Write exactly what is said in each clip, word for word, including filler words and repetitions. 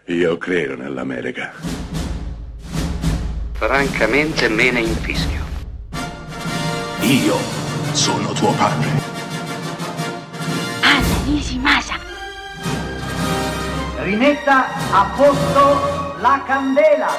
Io credo nell'America. Francamente me ne infischio. Io sono tuo padre. Anna Nishimasa. Rimetta a posto la candela.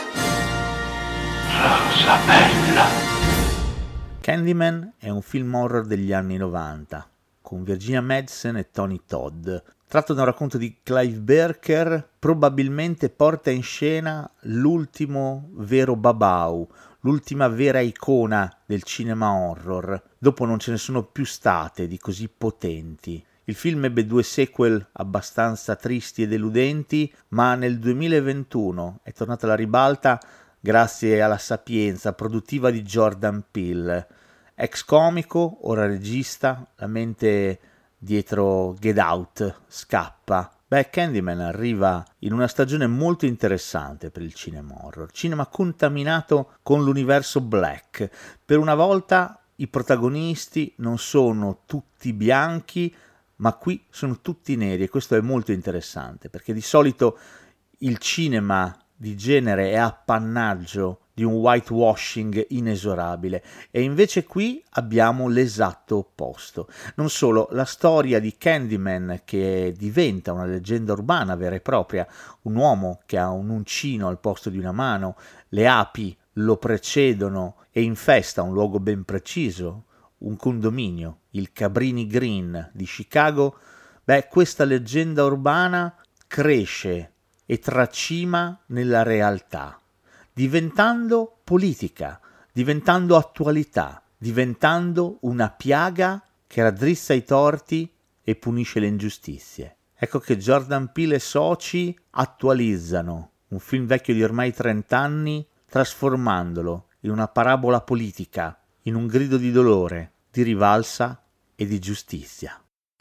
Rosa bella. Candyman è un film horror degli anni novanta, con Virginia Madsen e Tony Todd. Tratto da un racconto di Clive Barker, probabilmente porta in scena l'ultimo vero babau, l'ultima vera icona del cinema horror. Dopo non ce ne sono più state di così potenti. Il film ebbe due sequel abbastanza tristi e deludenti, ma nel duemilaventuno è tornata alla ribalta grazie alla sapienza produttiva di Jordan Peele. Ex comico, ora regista, la mente dietro Get Out scappa. Beh, Candyman arriva in una stagione molto interessante per il cinema horror, cinema contaminato con l'universo black. Per una volta i protagonisti non sono tutti bianchi, ma qui sono tutti neri, e questo è molto interessante, perché di solito il cinema di genere è appannaggio di un whitewashing inesorabile, e invece qui abbiamo l'esatto opposto. Non solo, la storia di Candyman, che diventa una leggenda urbana vera e propria, un uomo che ha un uncino al posto di una mano, le api lo precedono e infesta un luogo ben preciso, un condominio, il Cabrini Green di Chicago. Beh, questa leggenda urbana cresce e tracima nella realtà, diventando politica, diventando attualità, diventando una piaga che raddrizza i torti e punisce le ingiustizie. Ecco che Jordan Peele e soci attualizzano un film vecchio di ormai trent'anni, trasformandolo in una parabola politica, in un grido di dolore, di rivalsa e di giustizia.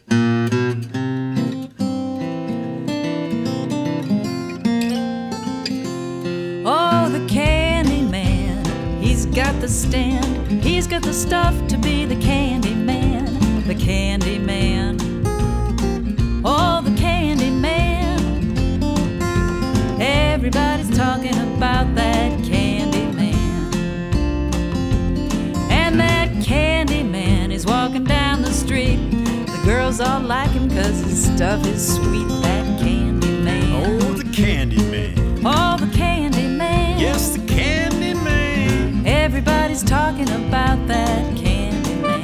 Oh, the Candyman, he's got the stand, he's got the stuff to be the Candyman, the Candyman. Oh, the Candyman, everybody's talking about that Candyman. And that Candyman is walking down the street, the girls all like him cause his stuff is sweet, that Candyman. Oh, the Candyman. Oh, the Candyman. Yes, the Candyman. Everybody's talking about that Candyman.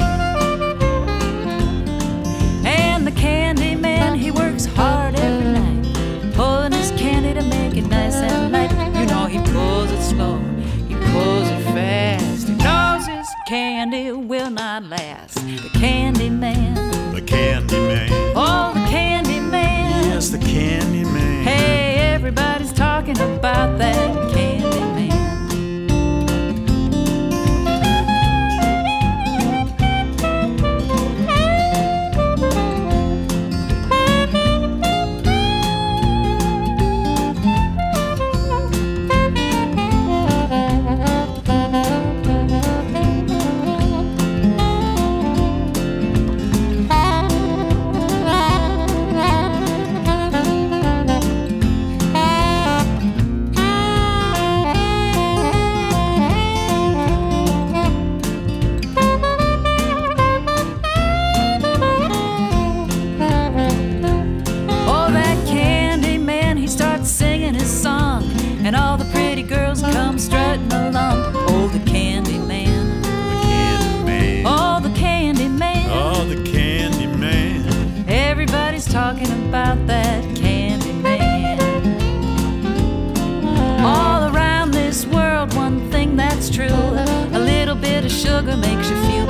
And the Candyman, he works hard every night, pulling his candy to make it nice and light. You know he pulls it slow, he pulls it fast. He knows his candy will not last. The Candyman. The Candyman. Oh, the Candyman. Yes, the Candyman. Hey, everybody's talking about that Candyman. And all the pretty girls come strutting along. Oh, the Candyman. The Candyman. Oh, the Candyman. Oh, the Candyman. Everybody's talking about that Candyman. All around this world, one thing that's true, a little bit of sugar makes you feel